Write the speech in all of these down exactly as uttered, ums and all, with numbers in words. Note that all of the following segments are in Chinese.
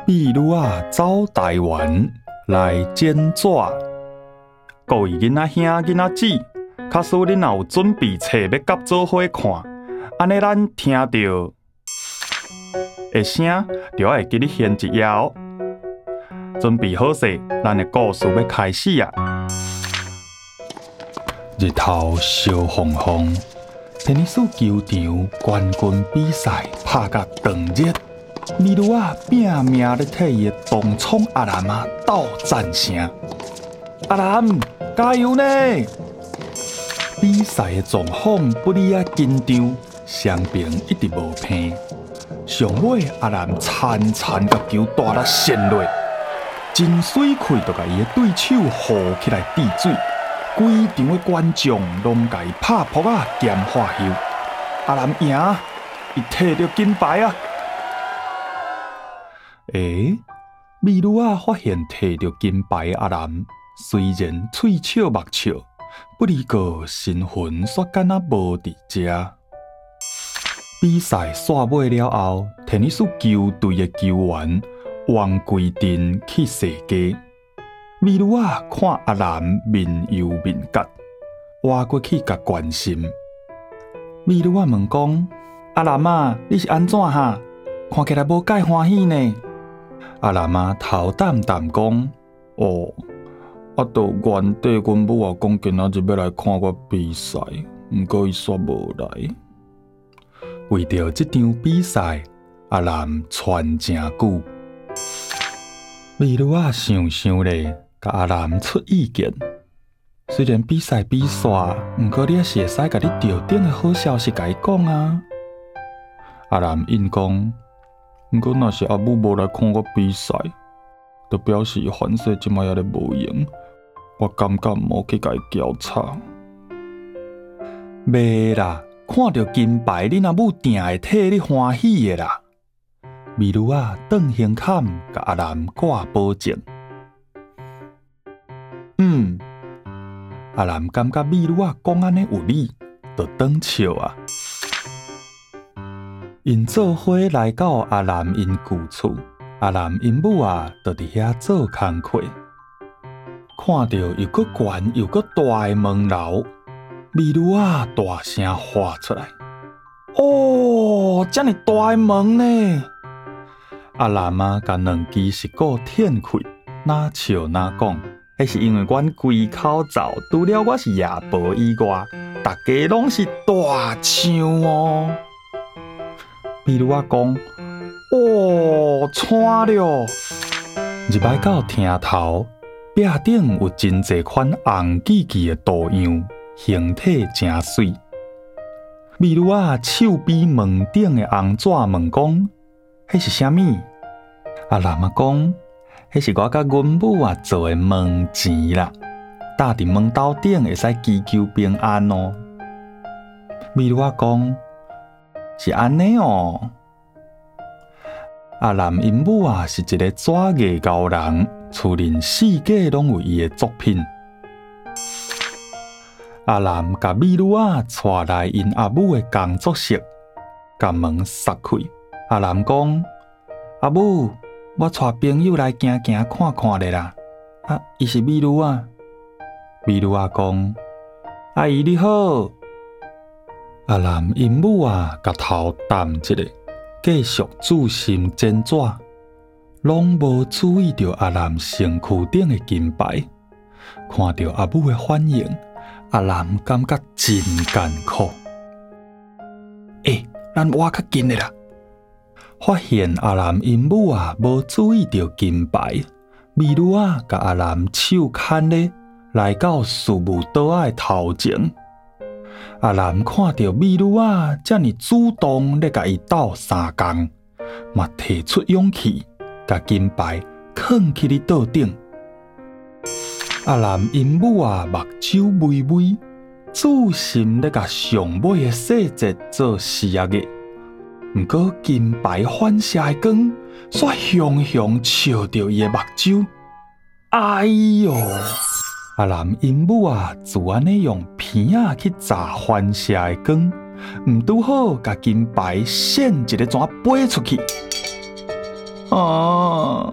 秘魯啊走台灣來剪紙，各位囡仔兄囡仔姊，假使恁若有準備冊要甲做伙看，安尼咱聽到的聲就會記你現一頁哦。準備好勢，咱的故事要開始啊！日頭燒烘烘，天尼斯球場冠軍比賽拍甲長熱。秘魯啊拼命咧替伊的東廠阿南啊鬥讚聲，阿南加油呢！比賽的狀況不哩啊緊張，雙邊一直無平。上尾阿南殘殘甲球大力旋落，真水氣就甲伊的對手扶起來治水，規場的觀眾攏甲伊拍撲啊兼花休。阿南贏，伊摕到金牌啊！誒、欸，秘魯啊發現摕到金牌的阿南，雖然喙笑目笑，不哩個身份煞敢若無佇遮。比賽煞尾了後，天尼斯球隊的球員王規定去踅街。秘魯啊看阿南面憂面結，活過去甲關心。秘魯啊問講：阿南啊，你是安怎哈？看起來無介歡喜呢？阿南啊頭淡淡講：哦，啊，就原底阮母啊講今仔日要來看我比賽，毋過伊煞無來。為着這場比賽，阿南喘真久。秘魯啊想想咧，甲阿南出意見。雖然比賽比煞，毋過你也是會使甲你吊頂的好消息甲伊講啊。阿南應講。毋過若是阿母無來看我比賽，就表示反正即擺也咧無用。我感覺毋好去甲伊交叉。袂啦，看到金牌，你阿母定會替你歡喜的啦。秘魯啊，轉胸坎甲阿南掛保證。嗯，阿南感覺秘魯啊講安尼有理，就轉笑啊。因做伙來到阿南因舊厝，阿南因母啊，就佇遐做工課。看到又閣懸又閣大的門樓，秘魯啊大聲喊出來：“哦，這麼大的門呢！”阿南啊，甲兩支石鼓舔開，哪笑哪講：“迄是因為阮規口罩，除了我是夜婆以外，大家攏是大唱哦。”秘魯啊講：“哦，慘了！入來到廳頭，壁頂有真儕款紅記記的圖樣，形體真水。”秘魯啊手比門頂的紅紙問講：“迄是啥物？”阿南啊講：“迄是我甲阮母啊做的門錢啦，搭佇門斗頂會使祈求平安哦。”秘魯啊講。是安尼哦，阿南因母啊是一個紙藝高人，厝鄰四界攏有伊的作品。阿南甲秘魯啊帶來因阿母的工作室，甲門閂開。阿南講：“阿母，我帶朋友來行行看看咧啦。”啊，伊是秘魯啊。秘魯啊講：“阿姨你好。”阿南因母啊，甲頭淡一下，繼續注心剪紙，攏無注意到阿南身軀頂的金牌。看到阿母的反應，阿南感覺真艱苦。誒、欸，咱活較近的啦！發現阿南因母啊，無注意到金牌，秘魯啊，甲阿南手牽咧，來到事務桌仔的頭前。阿南看到秘魯啊，這麼主動咧，甲伊鬥相共，嘛提出勇氣，甲金牌藏起哩桌頂。阿南因母啊，目睭微微，注心咧，甲上尾的細節做視野嘅。毋過金牌反射的光，煞熊熊照着伊的目睭。哎喲！阿南因母啊，就安尼用片仔去炸反射的光，毋拄好甲金牌閃一個轉飛出去。啊！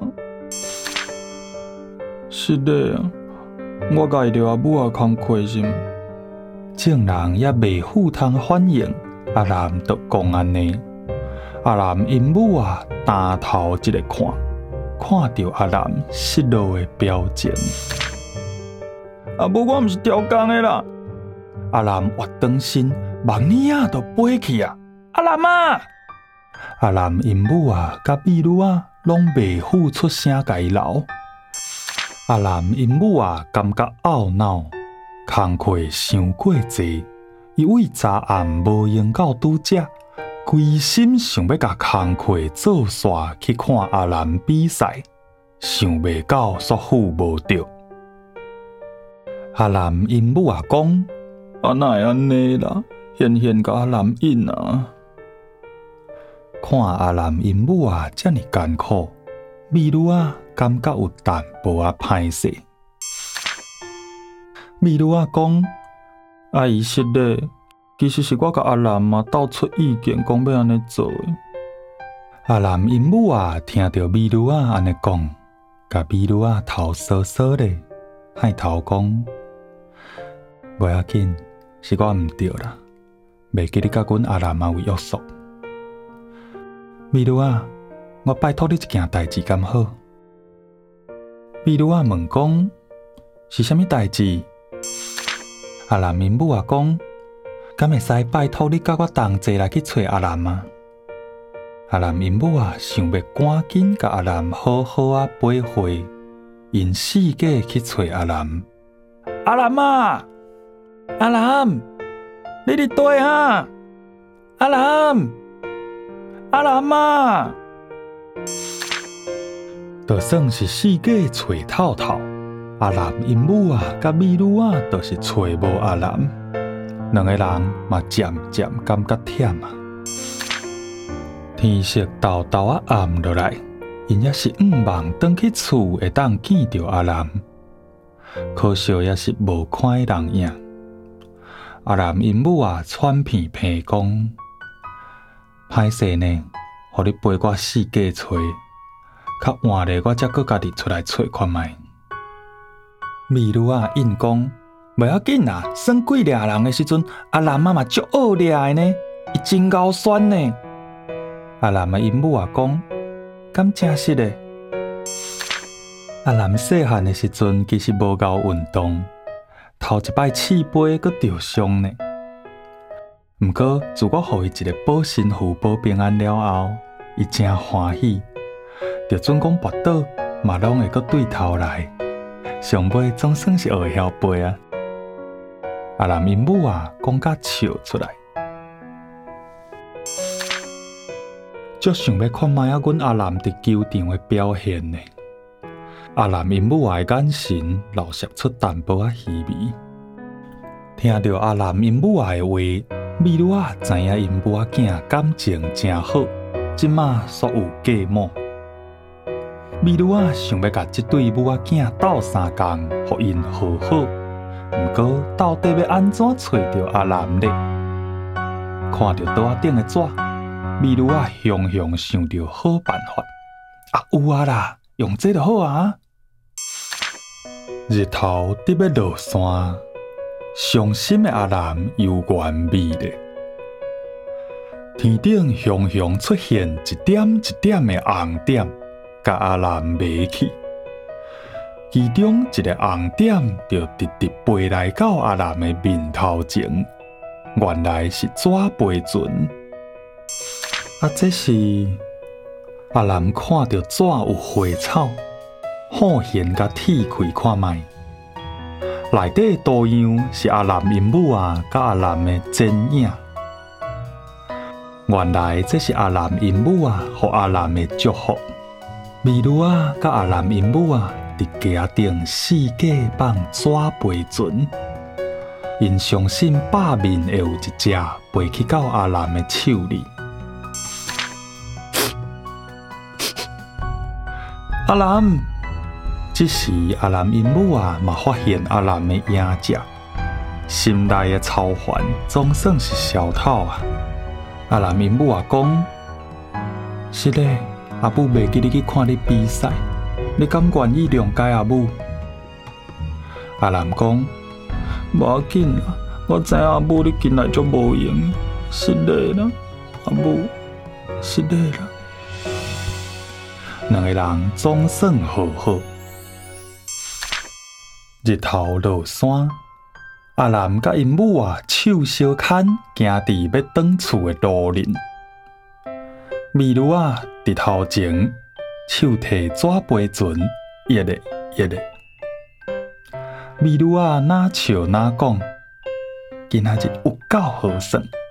是的啊，我甲伊着阿母也空虧心。眾人也未赴通反應，阿南就講安尼。阿南因母啊，擔頭一個看，看到阿南失落的表情。阿母，我毋是調工的啦！阿南活轉身，望呢啊，就飛去啊！阿南啊！阿南因母啊，甲美女啊，攏未付出聲甲伊留。阿南因母啊，感覺懊惱，工課傷過濟，伊為昨暗無用到拄則，規心想要甲工課做煞去看阿南比賽，想袂到煞付無着。阿南因母啊講：啊哪會安尼啦？現現甲阿南應啊！看阿南因母啊遮爾艱苦，美女啊感覺有淡薄仔歹勢。美女啊講：阿姨是的，其實是我甲阿南啊鬥出意見，講要安尼做的。阿南因母啊聽到美女啊安尼講，甲美女啊頭搔搔咧，歹頭講：袂要緊，是我毋對啦，袂記你甲阮阿南啊為約束。美女啊，我拜託你一件代志敢好？美女啊問講：是啥物代志？阿南因母啊講：敢會使拜託你甲我同齊來去找阿南啊？阿南因母啊想要趕緊甲阿南好好啊陪會，因四界去找阿南。阿南啊，阿南，你佇佗啊？阿南，阿南啊！就算是四界找透透，阿南因母啊，甲美女啊，都是找無阿南，兩個人嘛漸漸感覺忝啊。天色豆豆啊暗落來，因也是毋望轉去厝會當見着阿南，可惜也是無看人影。阿南因母啊，喘片鼻講：歹勢呢，互你陪我四界找。較晚咧，我才閣家己出來找看覓。美女啊應講：袂要緊啦，算幾掠人的時陣，阿南媽嘛足好掠的呢，伊真夠酸呢。阿南的因母啊講：敢真實的？阿南細漢的時陣，其實無夠運動，頭一擺刺背閣著傷呢。毋過自我予伊一個保身符保平安了後，伊真歡喜。就準講跋倒，嘛攏會閣對頭來，上尾總算是學會曉背啊！阿南因母啊，講甲笑出來，足想要看覓仔阮阿南佇球場的表現呢。阿南因母啊的眼神流射出淡薄仔虛微，聽到阿南因母啊的話，美女啊知影因母仔囝感情真好，即馬煞有計謀。美女啊，想要甲這對母仔囝鬥相共，互因和好。毋過到底要安怎找着阿南呢？看着桌仔頂的紙，美女啊，雄雄想着好辦法。啊，有啊啦，用這就好啊！日頭佇要落山，傷心的阿南猶原美麗。天頂雄雄出現一點一點的紅點。甲阿南迷去，其中一個紅點就直直飛來到阿南的面頭前，原來是紙飛船。啊，這是阿南看到紙有花草，好現甲鐵開看覓，內底圖樣是阿南因母啊，甲阿南的剪影。原來這是阿南因母啊，予阿南的祝福。美女啊，甲阿南因母啊，佇家頂四界放紙飛船，因相信百面會有一隻飛去到阿南的手裡。阿南，這時阿南因母啊，嘛發現阿南的影子，心內的操煩總算是消透啊。阿南因母啊講：是嘞。阿母袂記你去看你比賽，你敢願意諒解阿母？ 阿南講：無要緊啦，我知影阿母你近來足無閒，失禮啦，阿母失禮啦。兩個人總算和好。日頭落山，阿南甲因母啊手相牽，行佇要轉厝的路邊。美女啊佇頭前，手提紙杯船，一個一個。美女啊哪笑哪講，今仔日有夠好耍。